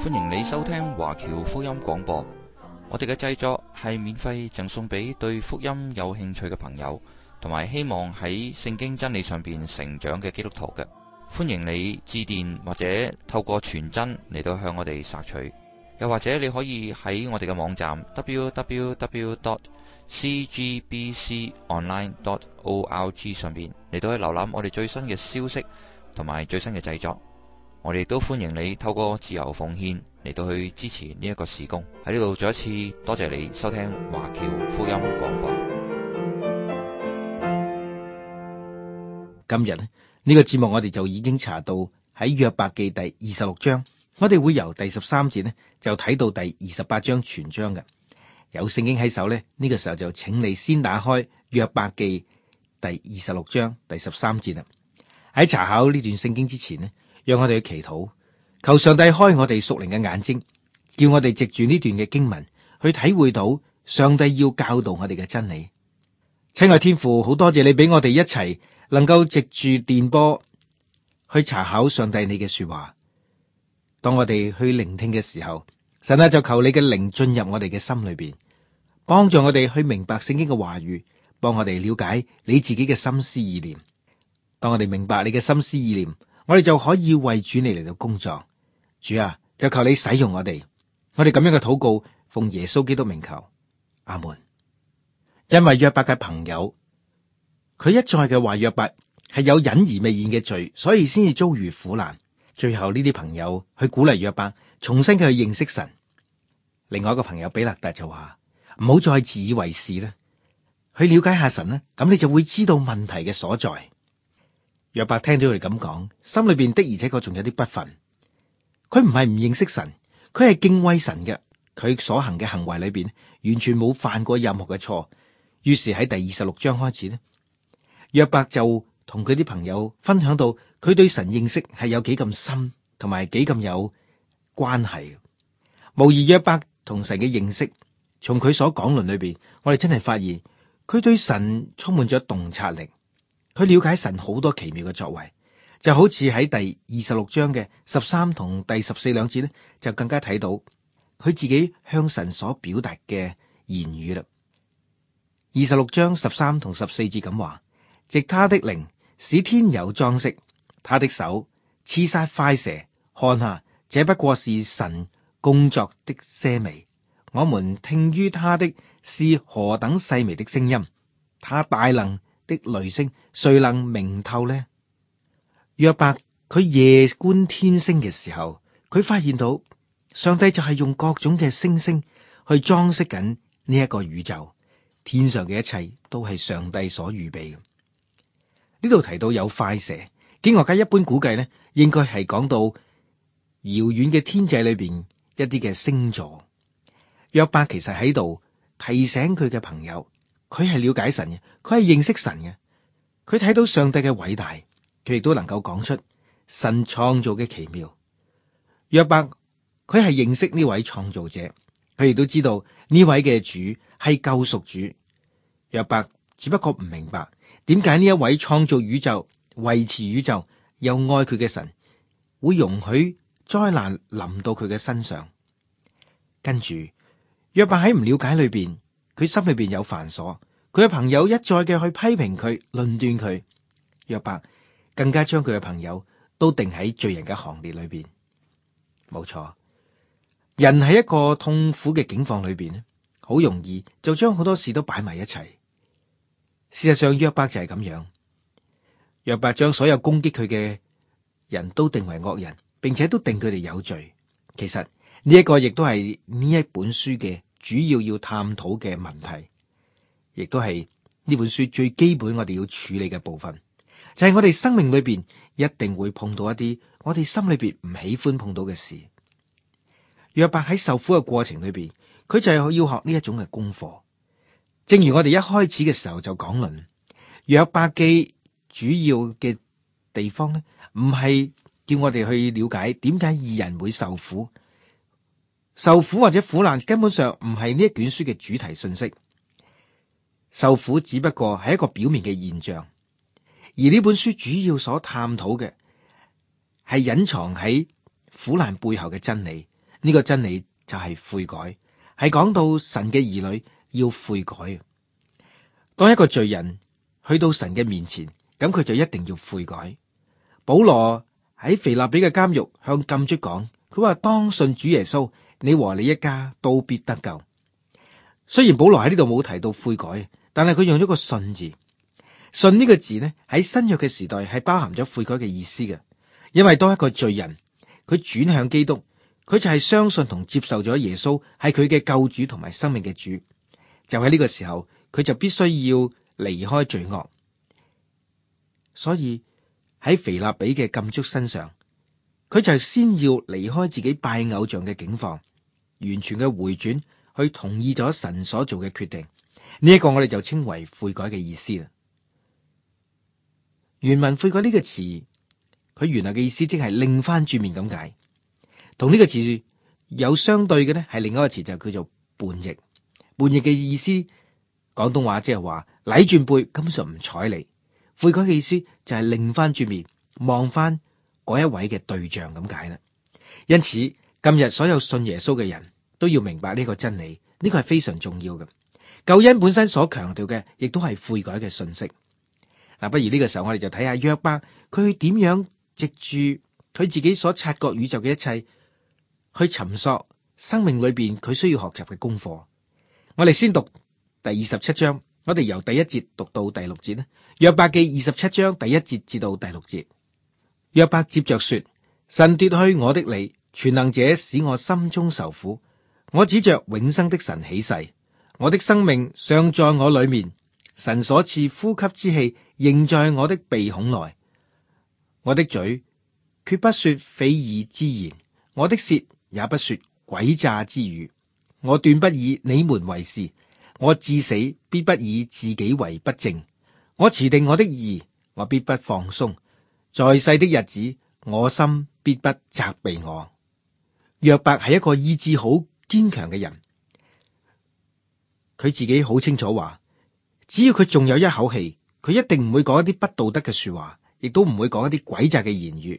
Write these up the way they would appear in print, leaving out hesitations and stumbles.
歡迎你收聽華僑福音廣播。我哋嘅製作係免費贈送俾對福音有興趣嘅朋友，同埋希望喺聖經真理上邊成長嘅基督徒嘅。歡迎你致電或者透過傳真嚟到向我哋索取，又或者你可以喺我哋嘅網站 www.cgbconline.org 上邊嚟到去瀏覽我哋最新嘅消息同埋最新嘅製作。我哋都歡迎你透過自由奉獻嚟到去支持呢一個事工。喺呢度再一次多謝你收聽華僑福音廣播。 今日呢個節目我哋就已經查到喺約伯記第26章，我哋會由第13節就睇到第28章全章嘅。有聖經喺手呢個時候就請你先打開約伯記第26章第13節啦。喺查考呢段聖經之前讓我哋去祈禱，求上帝開我哋屬靈嘅眼睛，叫我哋藉住呢段嘅經文去體會到上帝要教導我哋嘅真理。親愛天父，好多謝你俾我哋一齊能夠藉住電波去查考上帝你嘅說話。當我哋去聆聽嘅時候，神就求你嘅靈進入我哋嘅心裏邊，幫助我哋去明白聖經嘅話語，幫我哋了解你自己嘅心思意念。當我哋明白你嘅心思意念，我哋就可以為主你嚟到工作。主啊，就求你使用我哋。我哋咁樣嘅禱告，奉耶穌基督名求，阿門。因為約伯嘅朋友，佢一再嘅話約伯係有隱而未現嘅罪，所以先至遭遇苦難。最後呢啲朋友去鼓勵約伯重新嘅去認識神。另外一個朋友比勒達就話唔好再自以為是啦，去了解下神啦，咁你就會知道問題嘅所在。約伯聽到佢哋咁講，心裏邊的而且確仲有啲不忿。佢唔係唔認識神，佢係敬畏神嘅。佢所行嘅行為裏邊完全冇犯過任何嘅錯。於是喺第26章開始約伯就同佢啲朋友分享到佢對神認識係有幾咁深，同埋幾咁有關係。無疑約伯同神嘅認識，從佢所講論裏邊，我哋真係發現佢對神充滿咗洞察力。佢了解神好多奇妙嘅作為，就好似喺第26章嘅13同第14兩節就更加睇到佢自己向神所表達嘅言語啦。26章13同14節咁話：藉他的靈使天有裝飾，他的手刺殺快蛇，看下，這不過是神工作的些微。我們聽於他的是何等細微的聲音，他大能的雷聲，誰能明透呢？約伯佢夜觀天星嘅時候，佢發現到上帝就係用各種嘅星星去裝飾緊呢一個宇宙，天上嘅一切都係上帝所預備嘅。呢度提到有快蛇，經學家一般估計應該係講到遙遠嘅天際裏邊一啲嘅星座。約伯其實喺度提醒佢嘅朋友，佢係了解神嘅，佢係認識神嘅，佢睇到上帝嘅偉大，佢亦都能夠講出神創造嘅奇妙。約伯佢係認識呢位創造者，佢亦都知道呢位嘅主係救贖主。約伯只不過唔明白點解呢一位創造宇宙、維持宇宙又愛佢嘅神會容許災難臨到佢嘅身上。跟住約伯喺唔了解裏邊，佢心裏邊有煩瑣，佢嘅朋友一再嘅去批評佢、論斷佢。約伯更加將佢嘅朋友都定喺罪人嘅行列裏邊。冇錯，人喺一個痛苦嘅境況裏邊，好容易就將好多事都擺埋一齊。事實上，約伯就係咁樣。約伯將所有攻擊佢嘅人都定為惡人，並且都定佢哋有罪。其實呢一個亦都係呢一本書嘅主要探討嘅問題，亦都係呢本書最基本我哋要處理嘅部分，就係我哋生命裏邊一定會碰到一啲我哋心裏邊唔喜歡碰到嘅事。約伯喺受苦嘅過程裏邊，佢就係要學呢一種嘅功課。正如我哋一開始嘅時候就講論，約伯記主要嘅地方唔係叫我哋去了解點解義人會受苦。受苦或者苦難根本上唔係呢一卷書嘅主題信息，受苦只不過係一個表面嘅現象，而呢本書主要所探討嘅係隱藏喺苦難背後嘅真理。 呢個真理就係悔改，係講到神嘅兒女要悔改。當一個罪人去到神嘅面前，咁佢就一定要悔改。保羅喺腓立比嘅監獄向禁卒講，佢話當信主耶穌，你和你一家都必得救。雖然保羅喺呢度冇提到悔改，但係佢用咗個信字。信呢個字呢，喺新約嘅時代係包含咗悔改嘅意思嘅。因為當一個罪人佢轉向基督，佢就係相信同接受咗耶穌係佢嘅救主同埋生命嘅主。就喺呢個時候，佢就必須要離開罪惡。所以喺腓立比嘅禁卒身上，佢就先要離開自己拜偶像嘅境況，完全嘅回轉去同意咗神所做嘅決定。呢一個我哋就稱為悔改嘅意思啦。原文悔改呢個詞，佢原來嘅意思即係擰翻轉面咁解。同呢個詞有相對嘅呢，係另一個詞就叫做叛逆。叛逆嘅意思，廣東話即係話擰轉背，根本上唔睬你。悔改嘅意思就係擰翻轉面，望翻嗰一位嘅對象咁解啦。因此今日所有信耶穌嘅人都要明白呢個真理，呢個係非常重要嘅。救恩本身所強調嘅，亦都係悔改嘅信息。嗱，不如呢個時候我哋就睇下約伯，佢點樣藉住佢自己所察覺宇宙嘅一切，去尋索生命裏邊佢需要學習嘅功課。我哋先讀第27章，我哋由第1節讀到第6節呢。約伯記27章第1節至到第6節。約伯接着說：神奪去我的理，全能者使我心中受苦。我指着永生的神起誓，我的生命尚在我裏面，神所賜呼吸之氣仍在我的鼻孔內。我的嘴決不說非義之言，我的舌也不說詭詐之語。我斷不以你們為是，我至死必不以自己為不正。我持定我的義，我必不放鬆。在世的日子，我心必不責備我。約伯係一個意志好堅強嘅人，佢自己好清楚話，只要佢仲有一口氣，佢一定唔會講一啲不道德嘅說話，亦都唔會講一啲詭詐嘅言語。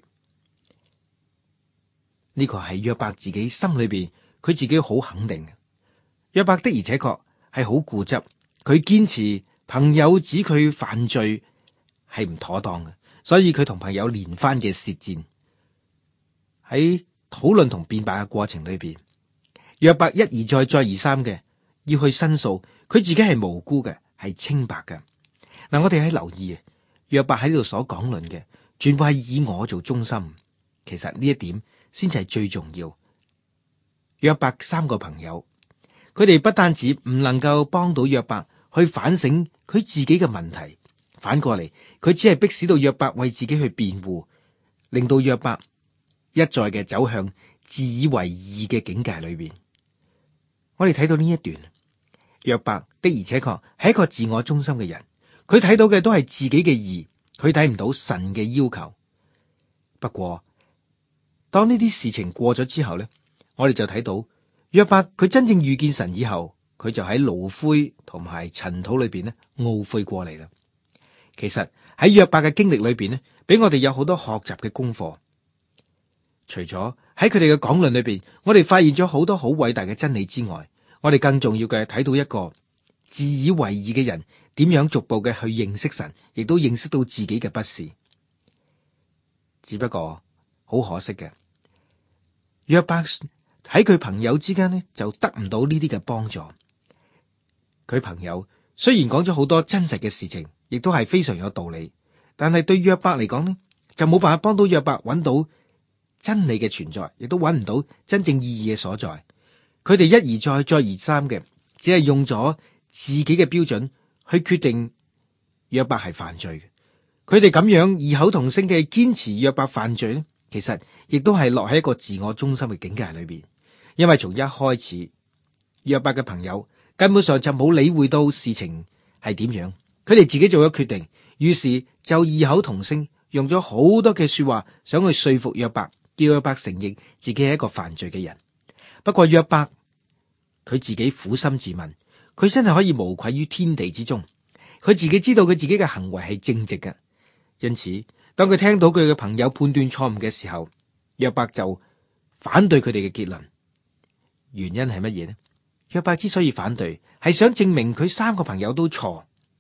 呢個係約伯自己心裏邊，佢自己好肯定嘅。約伯的而且確係好固執，佢堅持朋友指佢犯罪係唔妥當嘅，所以佢同朋友連番嘅舌戰。喺討論同辯白嘅過程裏邊，約伯一而再再而三嘅要去申訴，佢自己係無辜嘅，係清白嘅。嗱，我哋喺留意約伯喺呢度所講論嘅，全部係以我做中心。其實呢一點先至係最重要。約伯3個朋友，佢哋不單止唔能夠幫到約伯去反省佢自己嘅問題，反過嚟佢只係迫使到約伯為自己去辯護，令到約伯一再嘅走向自以為義嘅境界裏邊。我哋睇到呢一段，約伯的而且確係一個自我中心嘅人，佢睇到嘅都係自己嘅義，佢睇唔到神嘅要求。不過當呢啲事情過咗之後呢，我哋就睇到約伯佢真正遇見神以後，佢就喺爐灰同埋塵土裏邊呢懊悔過嚟啦。其實喺約伯嘅經歷裏邊呢，俾我哋有好多學習嘅功課。除咗喺佢哋嘅講論裏邊，我哋發現咗好多好偉大嘅真理之外，我哋更重要嘅睇到一個自以為義嘅人點樣逐步嘅去認識神，亦都認識到自己嘅不是。只不過好可惜嘅，約伯喺佢朋友之間呢，就得唔到呢啲嘅幫助。佢朋友雖然講咗好多真實嘅事情，亦都係非常有道理，但係對約伯嚟講呢，就冇辦法幫到約伯揾到真理嘅存在，亦都揾唔到真正意義嘅所在。佢哋一而再再而三嘅，只係用咗自己嘅標準去決定約伯係犯罪嘅。佢哋咁樣異口同聲嘅堅持約伯犯罪呢，其實亦都係落喺一個自我中心嘅境界裏邊。因為從一開始，約伯嘅朋友根本上就冇理會到事情係點樣，佢哋自己做咗決定，於是就異口同聲用咗好多嘅說話，想去說服約伯，叫約伯承認自己係一個犯罪嘅人。不過約伯佢自己苦心自問，佢真係可以無愧於天地之中，佢自己知道佢自己嘅行為係正直嘅。因此當佢聽到佢嘅朋友判斷錯誤嘅時候，約伯就反對佢哋嘅結論， 原因係乜嘢呢？約伯之所以反對，係想證明佢三個朋友都錯，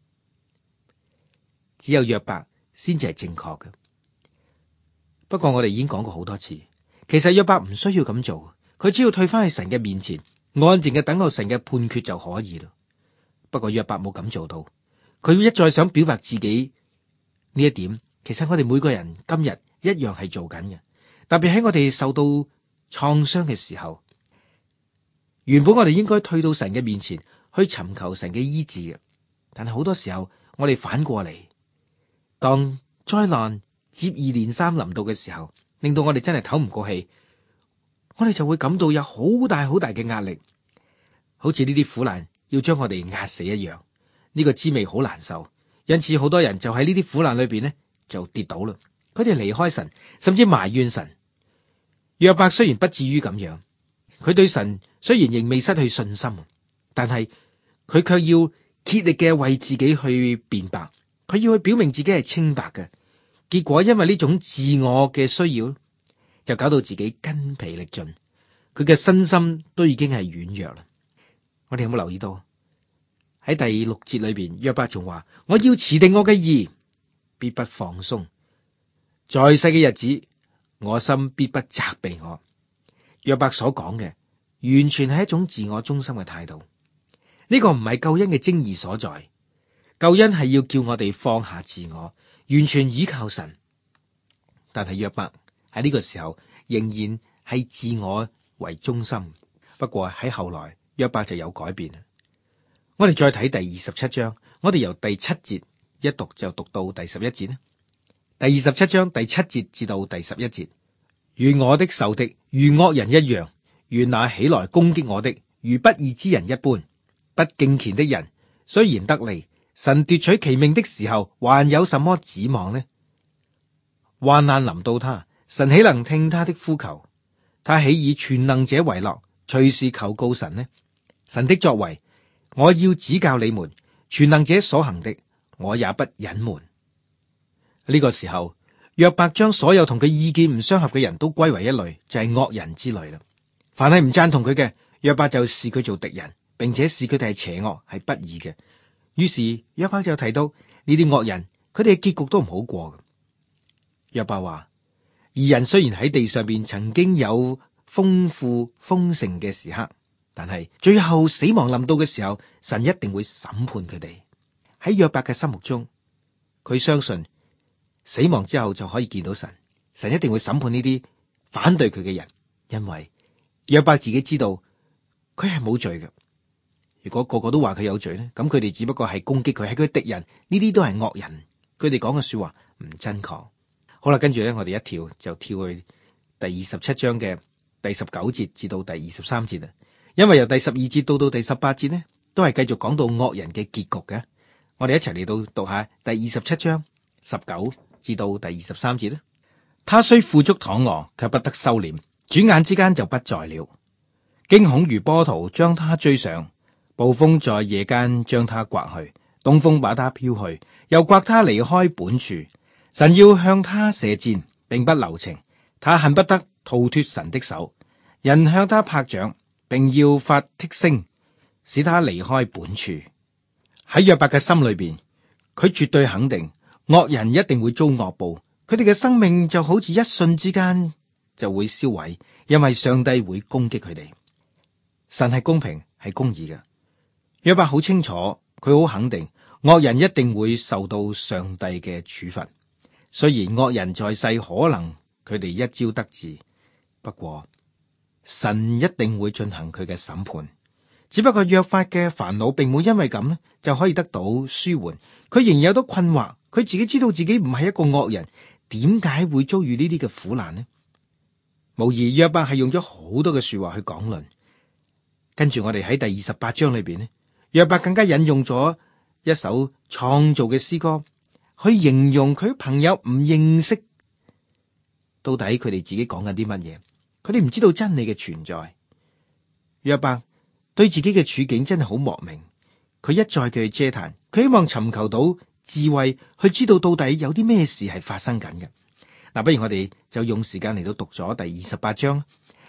只有約伯先至係正確嘅。不過我哋已經講過好多次，其實約伯唔需要咁做，佢只要退翻去神嘅面前，安靜嘅等候神嘅判決就可以啦。不過約伯冇咁做到，佢一再想表白自己呢一點，其實我哋每個人今日一樣係做緊嘅，特別喺我哋受到創傷嘅時候，原本我哋應該退到神嘅面前去尋求神嘅醫治嘅，但係好多時候我哋反過嚟，當災難接二連三臨到嘅時候，令到我哋真係唞唔過氣，我哋就會感到有好大好大嘅壓力，好似呢啲苦難要將我哋壓死一樣，呢個滋味好難受。因此好多人就喺呢啲苦難裏邊呢就跌倒啦，佢哋離開神，甚至埋怨神。約伯雖然不至於咁樣，佢對神雖然仍未失去信心，但係佢卻要竭力嘅為自己去辯白，佢要去表明自己係清白嘅。結果因為呢種自我嘅需要，就搞到自己筋疲力盡，佢嘅身心都已經係軟弱啦。我哋有冇留意到喺第六節裏邊，約伯仲話：我要持定我嘅義，必不放鬆。在世嘅日子，我心必不責備我。約伯所講嘅，完全係一種自我中心嘅態度。呢個唔係救恩嘅精義所在。救恩係要叫我哋放下自我，完全依靠神。但係約伯喺呢個時候仍然係自我為中心。不過喺後來，約伯就有改變。我哋再睇第27章，我哋由第7節一讀就讀到第11節呢。第27章第7節至到第11節，願我的仇敵如惡人一樣，願那起來攻擊我的如不義之人一般。不敬虔的人雖然得利，神奪取其命的時候，還有什麼指望呢？患難臨到他，神豈能聽他的呼求？他豈以全能者為樂，隨時求告神呢？神的作為，我要指教你們；全能者所行的，我也不隱瞞。呢個時候，約伯將所有同佢意見唔相合嘅人都歸為一類，就係惡人之類啦。凡係唔贊同佢嘅，約伯就視佢做敵人，並且視佢哋係邪惡，係不義嘅。於是約伯就提到呢啲惡人，佢哋嘅結局都唔好過嘅。約伯話：義人雖然喺地上邊曾經有豐富豐盛嘅時刻，但係最後死亡臨到嘅時候，神一定會審判佢哋。喺約伯嘅心目中，佢相信死亡之後就可以見到神，神一定會審判呢啲反對佢嘅人，因為約伯自己知道佢係冇罪嘅。如果個個都話佢有罪咧，咁佢哋只不過係攻擊佢，係佢敵人，呢啲都係惡人，佢哋講嘅說話唔真確。好啦，跟住咧，我哋一跳就跳去第27章嘅第19節至到第23節啦。因為由第12節到第18節呢，都係繼續講到惡人嘅結局嘅。我哋一齊嚟到讀下第27章19至到第23節啦。他雖富足躺臥，卻不得收斂，轉眼之間就不在了。驚恐如波濤將他追上，暴風在夜間將他颳去，東風把他飄去，又颳他離開本處。神要向他射箭，並不留情，他恨不得逃脫神的手。人向他拍掌，並要發剔聲，使他離開本處。喺約伯嘅心裏邊，佢絕對肯定惡人一定會遭惡報，佢哋嘅生命就好似一瞬之間就會燒毀，因為上帝會攻擊佢哋。神係公平係公義嘅，約伯好清楚，佢好肯定惡人一定會受到上帝嘅處罰。雖然惡人在世可能佢哋一朝得志，不過神一定會進行佢嘅審判。只不過約伯嘅煩惱並冇因為咁就可以得到舒緩，佢仍然有多困惑。佢自己知道自己唔係一個惡人，點解會遭遇呢啲嘅苦難呢？無疑約伯係用咗好多嘅說話去講論。跟住我哋喺第28章裏邊呢，約伯更加引用咗一首創造嘅詩歌，去形容佢朋友唔認識到底佢哋自己講緊啲乜嘢，佢哋唔知道真理嘅存在。約伯對自己嘅處境真係好莫名，佢一再嘅去嗟嘆，佢希望尋求到智慧，去知道到底有啲咩事係發生緊嘅。嗱，不如我哋就用時間嚟到讀咗第28章。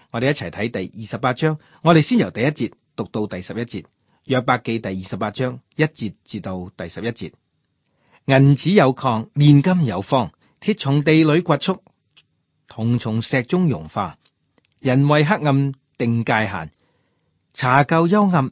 我哋一齊睇第28章，我哋先由第1節讀到第11節。約伯記第28章1節至到第11節。銀子有礦，煉金有方，鐵從地裏掘出，銅從石中融化。人為黑暗定界限，查究幽暗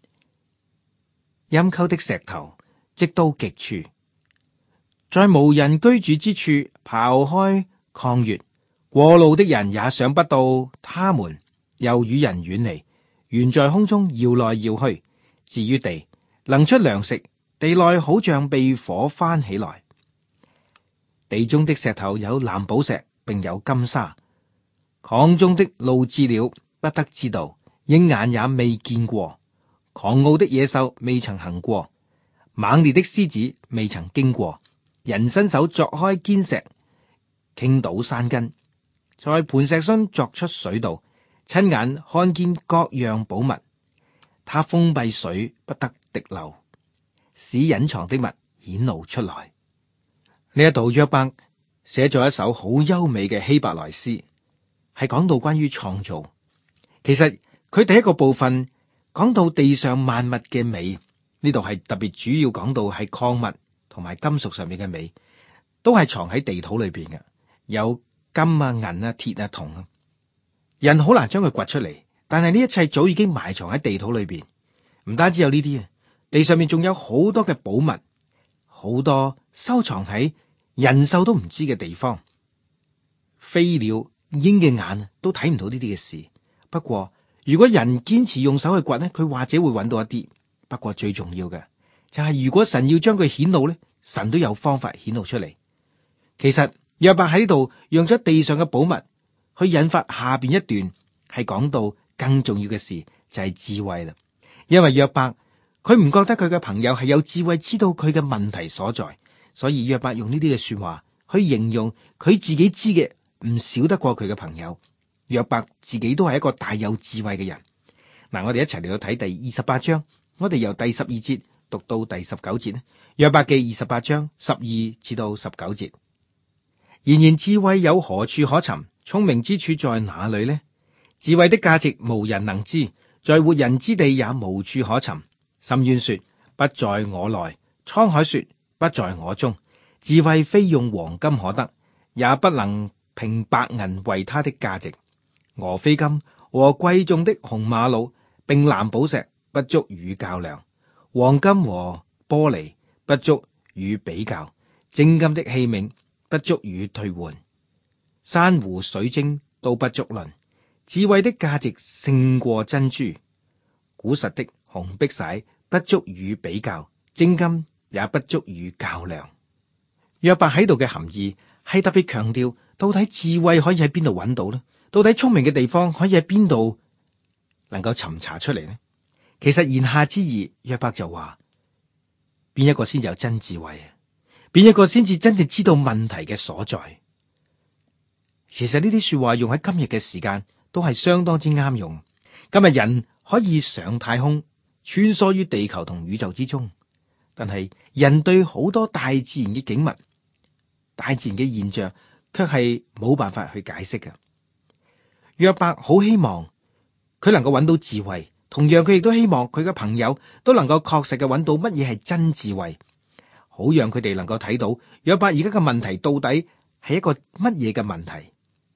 陰溝的石頭，直到極處，在無人居住之處刨開礦穴。過路的人也想不到，他們又與人遠離，懸在空中搖來搖去。至於地，能出糧食，地內好像被火翻起來。地中的石頭有藍寶石，並有金沙。礦中的路鷙鳥不得知道，鷹眼也未見過。狂傲的野獸未曾行過，猛烈的獅子未曾經過。人伸手鑿開堅石，傾倒山根，在磐石上鑿出水道，親眼看見各樣寶物。他封閉水不得滴漏，使隱藏的物顯露出來。呢一度約伯寫咗一首好優美嘅希伯來詩，係講到關於創造。其實佢第一個部分講到地上萬物嘅美，呢度係特別主要講到係礦物同埋金屬上面嘅美，都係藏喺地土裏邊嘅，有金啊、銀啊、鐵啊、銅啊，人好難將佢掘出嚟。但係呢一切早已經埋藏喺地土裏邊。唔單止有呢啲啊，地上面仲有好多嘅寶物，好多收藏喺人獸都唔知嘅地方。飛鳥鷹嘅眼都睇唔到呢啲嘅事。不過如果人堅持用手去掘呢，佢或者會揾到一啲。不過最重要嘅就係，如果神要將佢顯露呢，神都有方法顯露出嚟。其實約伯喺呢度用咗地上嘅寶物去引發下邊一段，係講到更重要嘅事，就係智慧啦。因為約伯佢唔覺得佢嘅朋友係有智慧知道佢嘅問題所在，所以約伯用呢啲嘅說話去形容佢自己知嘅唔少得過佢嘅朋友。約伯自己都係一個大有智慧嘅人。嗱，我哋一齊嚟到睇第28章，我哋由第12節讀到第19節咧。約伯記28章12至到19節。然智慧有何處可尋？聰明之處在哪裏呢？智慧的價值無人能知，在活人之地也無處可尋。深淵說不在我內，滄海說不在我中。智慧非用黃金可得，也不能憑白銀為它的價值。俄斐金和貴重的紅瑪瑙並藍寶石不足與較量，黃金和玻璃不足與比較，精金的器皿不足與兌換，珊瑚水晶都不足論。智慧的價值勝過珍珠，古實的紅碧璽不足與比較，精金也不足與較量。約伯喺度嘅含義係特別強調，到底智慧可以喺邊度揾到呢？到底聰明嘅地方可以喺邊度能夠尋查出嚟呢？其實言下之意，約伯就話：邊一個先有真智慧啊？邊一個先至真正知道問題嘅所在？其實呢啲說話用喺今日嘅時間都係相當之啱用。今日人可以上太空，穿梭於地球同宇宙之中，但係人對好多大自然嘅景物、大自然嘅現象，卻係冇辦法去解釋嘅。約伯好希望佢能夠揾到智慧，同樣佢亦都希望佢嘅朋友都能夠確實嘅揾到乜嘢係真智慧，好讓佢哋能夠睇到約伯而家嘅問題到底係一個乜嘢嘅問題。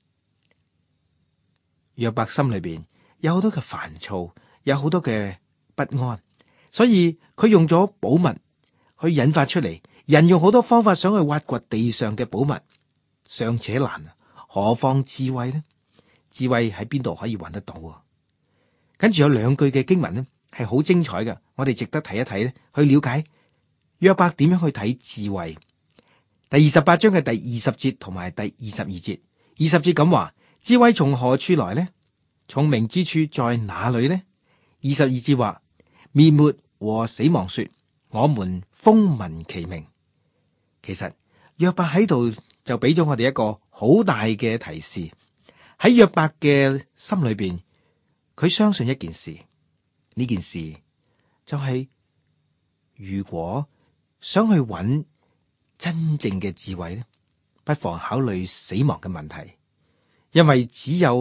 約伯心裏邊有好多嘅煩躁，有好多嘅不安，所以佢用咗寶物去引發出嚟。人用好多方法想去挖掘地上嘅寶物，尚且難，何況智慧呢？智慧喺邊度可以揾得到啊？跟住有兩句嘅經文呢，係好精彩嘅，我哋值得睇一睇咧，去了解約伯點樣去睇智慧。第28章嘅第20節同埋第22節。20節咁話：智慧從何處來呢？聰明之處在哪裏呢？22節話：滅沒和死亡說，我們風聞其名。其實約伯喺度就俾咗我哋一個好大嘅提示。喺約伯嘅心裏邊，佢相信一件事，呢件事就係如果想去揾真正嘅智慧咧，不妨考慮死亡嘅問題，因為只有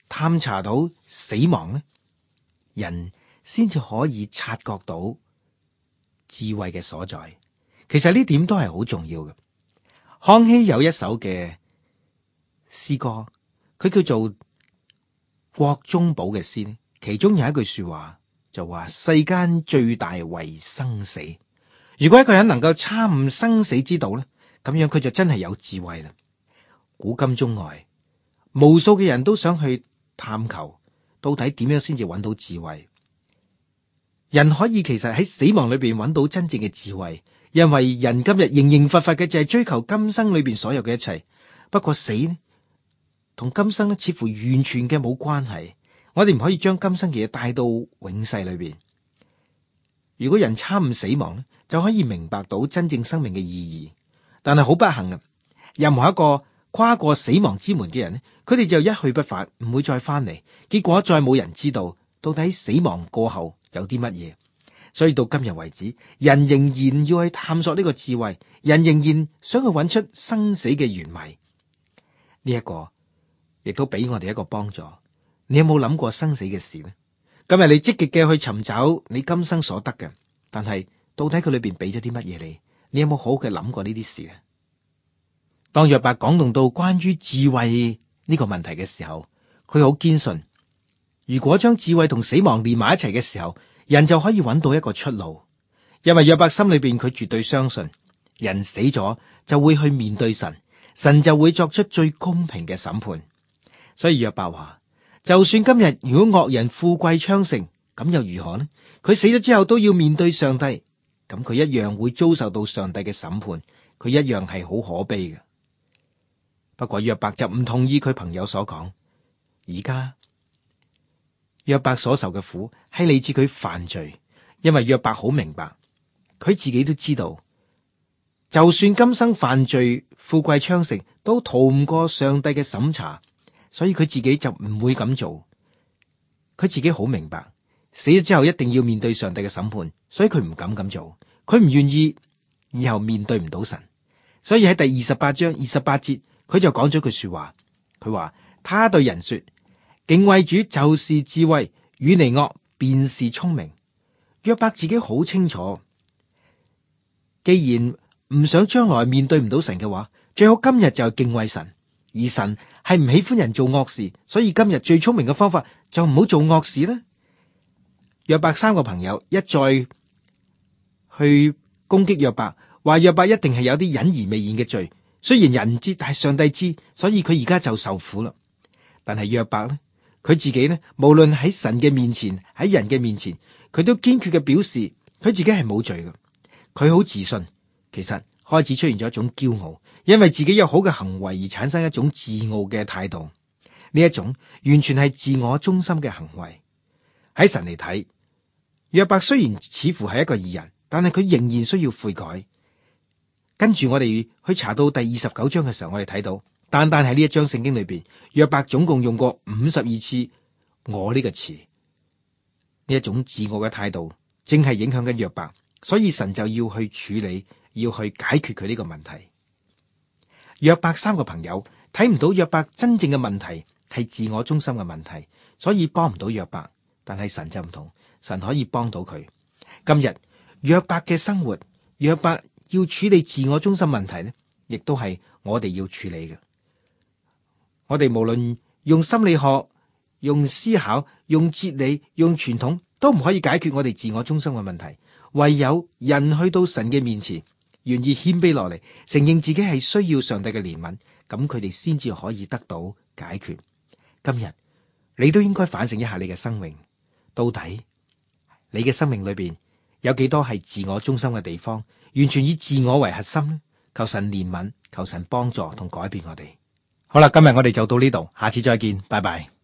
探查到死亡呢，人先至可以察覺到智慧嘅所在。其實呢點都係好重要嘅。康熙有一首嘅詩歌，佢叫做《國中寶》嘅詩呢，其中有一句說話就話：世間最大為生死。如果一個人能夠參悟生死之道呢，咁樣佢就真係有智慧啦。古今中外，無數嘅人都想去探求，到底點樣先至揾到智慧。人可以其實喺死亡裏邊揾到真正嘅智慧，因為人今日仍然乏乏嘅就係追求今生裏邊所有嘅一切。不過死呢，同今生呢似乎完全嘅冇關係。我哋唔可以將今生嘅嘢帶到永世裏邊。如果人參悟死亡呢，就可以明白到真正生命嘅意義。但係好不幸啊，任何一個跨過死亡之門嘅人呢，佢哋就一去不返，唔會再翻嚟。結果再冇人知道到底死亡過後有啲乜嘢。所以到今日為止，人仍然要去探索呢個智慧，人仍然想去揾出生死嘅原委。呢一個亦都俾我哋一個幫助。你有冇諗過生死嘅事呢？今日你積極嘅去尋找你今生所得嘅，但係到底佢裏邊俾咗啲乜嘢你？你有冇好好嘅諗過呢啲事呢？當約伯講動到關於智慧呢個問題嘅時候，佢好堅信，如果將智慧同死亡連埋一齊嘅時候，人就可以揾到一個出路。因為約伯心裏邊佢絕對相信，人死咗就會去面對神，神就會作出最公平嘅審判。所以約伯話，就算今日如果惡人富貴昌盛，咁又如何呢？佢死咗之後都要面對上帝，咁佢一樣會遭受到上帝嘅審判，佢一樣係好可悲嘅。不過約伯就唔同意佢朋友所講，而家約伯所受嘅苦係嚟自佢犯罪，因為約伯好明白，佢自己都知道，就算今生犯罪、富貴昌盛，都逃唔過上帝嘅審查，所以佢自己就唔會咁做。佢自己好明白，死咗之後一定要面對上帝嘅審判，所以佢唔敢咁做，佢唔願意以後面對唔到神。所以喺第28章28節，佢就講咗句說話，佢話：他對人說，敬畏主就是智慧，遠離惡便是聰明。約伯自己好清楚，既然唔想將來面對唔到神嘅話，最好今日就敬畏神。而神係唔喜歡人做惡事，所以今日最聰明嘅方法就唔好做惡事啦。約伯三個朋友一再去攻擊約伯，話約伯一定係有啲隱而未現嘅罪。雖然人唔知，但係上帝知，所以佢而家就受苦啦。但係約伯呢，佢自己呢，無論喺神嘅面前，喺人嘅面前，佢都堅決嘅表示佢自己係冇罪嘅。佢好自信，其實開始出現咗一種驕傲，因為自己有好嘅行為而產生一種自傲嘅態度。呢一種完全係自我中心嘅行為。喺神嚟睇，約伯雖然似乎係一個義人，但係佢仍然需要悔改。跟住我哋去查到第29章嘅時候，我哋睇到單單喺呢一章聖經裏邊，約伯總共用過52次我呢個詞。呢一種自我嘅態度正係影響緊約伯，所以神就要去處理，要去解決佢呢個問題。約伯三個朋友睇唔到約伯真正嘅問題係自我中心嘅問題，所以幫唔到約伯。但係神就唔同，神可以幫到佢。今日約伯嘅生活，約伯要處理自我中心問題呢，亦都係我哋要處理嘅。我哋無論用心理學、用思考、用哲理、用傳統，都唔可以解決我哋自我中心嘅問題。唯有人去到神嘅面前，願意謙卑落嚟，承認自己係需要上帝嘅憐憫，咁佢哋先至可以得到解決。今日你都應該反省一下你嘅生命，到底你嘅生命裏邊有幾多係自我中心嘅地方，完全以自我為核心呢？求神憐憫，求神幫助同改變我哋。好啦，今日我哋就到呢度，下次再見，拜拜。